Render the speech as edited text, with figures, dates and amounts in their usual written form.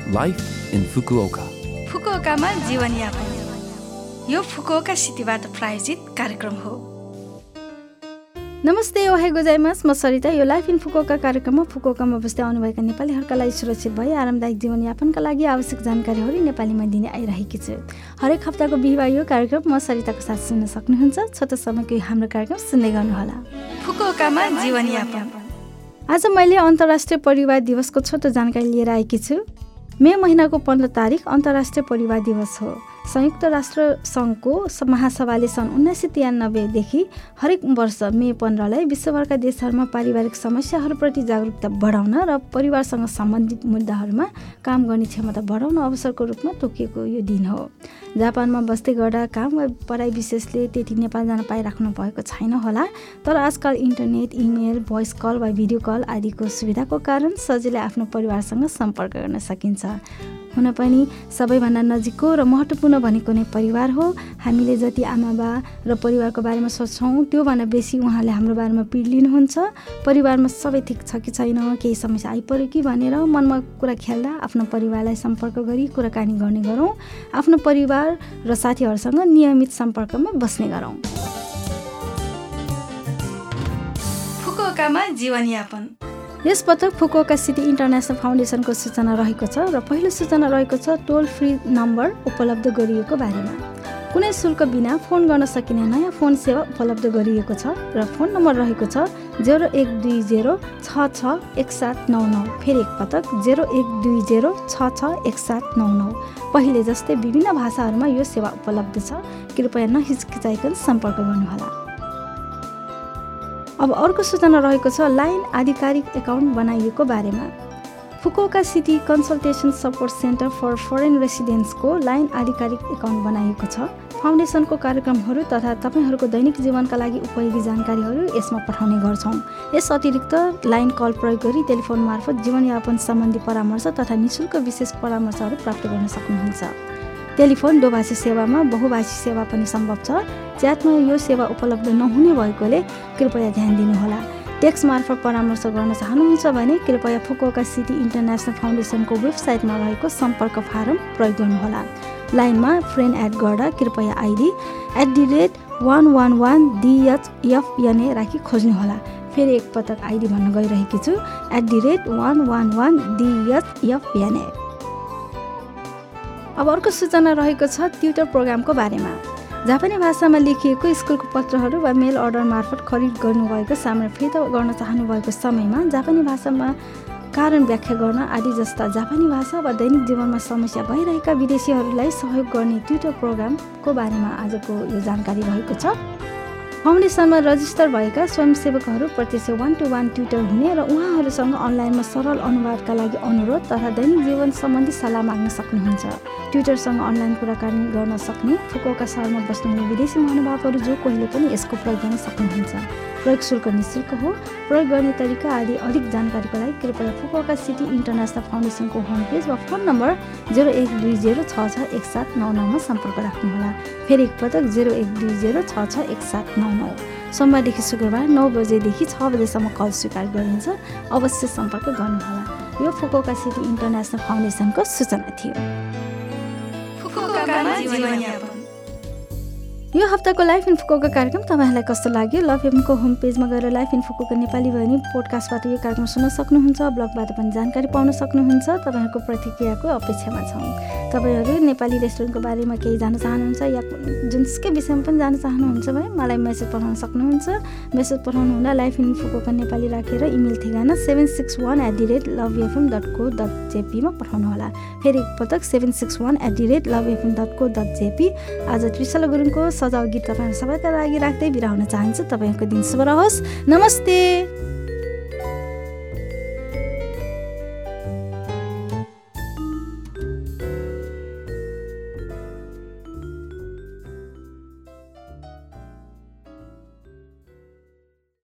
Life in Fukuoka. फुकुओकामा जीवनयापन। यो Fukuoka सिटीबाट प्रायोजित कार्यक्रम हो। नमस्ते, ओहाई गोजाइमास। म सरिता। यो लाइफ इन फुकुओका कार्यक्रममा फुकुओकामा बस्दै आउनुभएका नेपालीहरूका लागि सुरक्षित भई आरामदायक जीवनयापनका लागि आवश्यक जानकारीहरू नेपालीमा दिने आइरहेकी छु। हरेक हप्ताको बिहिबार यो कार्यक्रम म सरिताको साथ सुन्न सक्नुहुन्छ। छोटो समयको हाम्रो कार्यक्रम सुन्दै गर्नुहोला। फुकुओकामा जीवनयापन। आज मैले अन्तर्राष्ट्रिय परिवार दिवसको छोटो जानकारी लिएर आएकी छु। मे महिनाको 15 तारिक अन्तर्राष्ट्रिय परिवार दिवस हो। संयुक्त राष्ट्र सङ्घको महासभाले सन् 1993 देखि हरेक वर्ष मे 15लाई विश्वभरका देशहरूमा पारिवारिक समस्याहरूप्रति जागरुकता बढाउन र परिवारसँग सम्बन्धित मुद्दाहरूमा काम गर्ने क्षमता बढाउन अवसरको रूपमा तोकिएको यो दिन हो। जापानमा बस्दै गर्दा काम वा पढाइ विशेषले त्यति नेपाल जान पाइराख्नु भएको छैन होला, तर आजकल इन्टरनेट, इमेल, भोइस कल वा भिडियो कल आदिको सुविधाको कारण सजिलै आफ्नो परिवारसँग सम्पर्क गर्न सकिन्छ। हुन पनि सबैभन्दा नजिकको र महत्त्वपूर्ण भनेको नै परिवार हो। हामीले जति आमा बा र परिवारको बारेमा सोच्छौँ त्योभन्दा बेसी उहाँले हाम्रो बारेमा पिड लिनुहुन्छ। परिवारमा सबै ठिक छ कि छैन, केही समस्या आइपर्यो कि भनेर मनमा कुरा खेल्दा आफ्नो परिवारलाई सम्पर्क गरी कुराकानी गर्ने गरौँ। आफ्नो परिवार र साथीहरूसँग नियमित सम्पर्कमा बस्ने गरौँ। फुकुओकामा जीवनयापन। यस पटक फुकुओका सिटी इन्टरनेसनल फाउन्डेसनको सूचना रहेको छ र पहिलो सूचना रहेको छ टोल फ्री नम्बर उपलब्ध गरिएको बारेमा। कुनै शुल्क बिना फोन गर्न सकिने नयाँ फोन सेवा उपलब्ध गरिएको छ र फोन नम्बर रहेको छ 0120661799। फेरि एकपटक 0120661799। पहिले जस्तै विभिन्न भाषाहरूमा यो सेवा उपलब्ध छ। कृपया नहिचकिचाइकन सम्पर्क गर्नुहोला। अब अर्को सूचना रहेको छ लाइन आधिकारिक एकाउन्ट बनाइएको बारेमा। Fukuoka city consultation support centre for foreign रेसिडेन्ट्सको line आधिकारिक एकाउन्ट बनाइएको छ। फाउन्डेसनको कार्यक्रमहरू तथा तपाईँहरूको दैनिक जीवनका लागि उपयोगी जानकारीहरू यसमा पठाउने गर्छौँ। यस अतिरिक्त लाइन कल प्रयोग गरी टेलिफोन मार्फत जीवनयापन सम्बन्धी परामर्श तथा निःशुल्क विशेष परामर्शहरू प्राप्त गर्न सक्नुहुन्छ। टेलिफोन दोभाषी सेवामा बहुभाषी सेवा पनि सम्भव छ। च्याटमा यो सेवा उपलब्ध नहुने भएकोले कृपया ध्यान दिनुहोला। टेक्स्ट मार्फत परामर्श गर्न चाहनुहुन्छ भने कृपया फुकुओका सिटी इन्टरनेसनल फाउन्डेसनको वेबसाइटमा रहेको सम्पर्क फारम प्रयोग गर्नुहोला। लाइनमा फ्रेन्ड एड गर्दा कृपया आइडी @111DHFNA राखी खोज्नुहोला। फेरि एकपटक आइडी भन्न गइरहेकी छु @111DHFNA। अब अर्को सूचना रहेको छ ट्युटर प्रोग्रामको बारेमा। जापानी भाषामा लेखिएको स्कुलको पत्रहरू वा मेल अर्डर मार्फत खरिद गर्नुभएको सामान फिर्ता गर्न चाहनुभएको समयमा जापानी भाषामा कारण व्याख्या गर्न आदि जस्ता जापानी भाषा वा दैनिक जीवनमा समस्या भइरहेका विदेशीहरूलाई सहयोग गर्ने ट्युटर प्रोग्रामको बारेमा आजको यो जानकारी रहेको छ। फाउन्डेसनमा रजिस्टर भएका स्वयंसेवकहरू प्रत्यक्ष 1-to-1 ट्युटर हुने र उहाँहरूसँग अनलाइनमा सरल अनुवादका लागि अनुरोध तथा दैनिक जीवन सम्बन्धी सल्लाह माग्न सक्नुहुन्छ। ट्युटरसँग अनलाइन कुराकानी गर्न सक्ने फुकुओका सहरमा बस्नुहुने विदेशी महानुभावहरू जो कोहीले पनि यसको प्रयोग गर्न सक्नुहुन्छ। प्रयोग शुल्क निःशुल्क हो। प्रयोग गर्ने तरिका आदि अधिक जानकारीको लागि कृपया Fukuoka city international फाउन्डेसनको home page वा फोन नम्बर 0120661799 मा सम्पर्क राख्नुहोला। फेरि एकपटक 0120661799। सोमबारदेखि शुक्रबार 9 बजेदेखि 6 बजेसम्म कल स्वीकार गरिन्छ। अवश्य सम्पर्क गर्नुहोला। यो फुकुओका सिटी इन्टरनेसनल फाउन्डेसनको सूचना थियो। यो हप्ताको लाइफ इन फुकुओका कार्यक्रम तपाईँहरूलाई कस्तो लाग्यो? लभ एमको होम पेजमा गएर लाइफ इन फुकुओका नेपाली भने पोडकास्टबाट यो कार्यक्रम सुन्न सक्नुहुन्छ। ब्लगबाट पनि जानकारी पाउन सक्नुहुन्छ। तपाईँहरूको प्रतिक्रियाको अपेक्षामा छौँ। तपाईँहरू नेपाली रेस्टुरेन्टको बारेमा केही जान्न चाहनुहुन्छ या जुनसुकै विषयमा पनि जान्न चाहनुहुन्छ भने मलाई मेसेज पठाउन सक्नुहुन्छ। मेसेज पठाउनु हुँदा लाइफ इन फुकुओका नेपाली राखेर इमेल ठेगाना 761@lovefm.co.jp मा पठाउनुहोला। फेरि एकपटक 761@lovefm.co.jp। आज त्रिशला गुरुङको सजाव गीत तपाईँहरू सबैका लागि राख्दै बिदा हुन चाहन्छु। तपाईँहरूको दिन शुभ रहोस्। नमस्ते।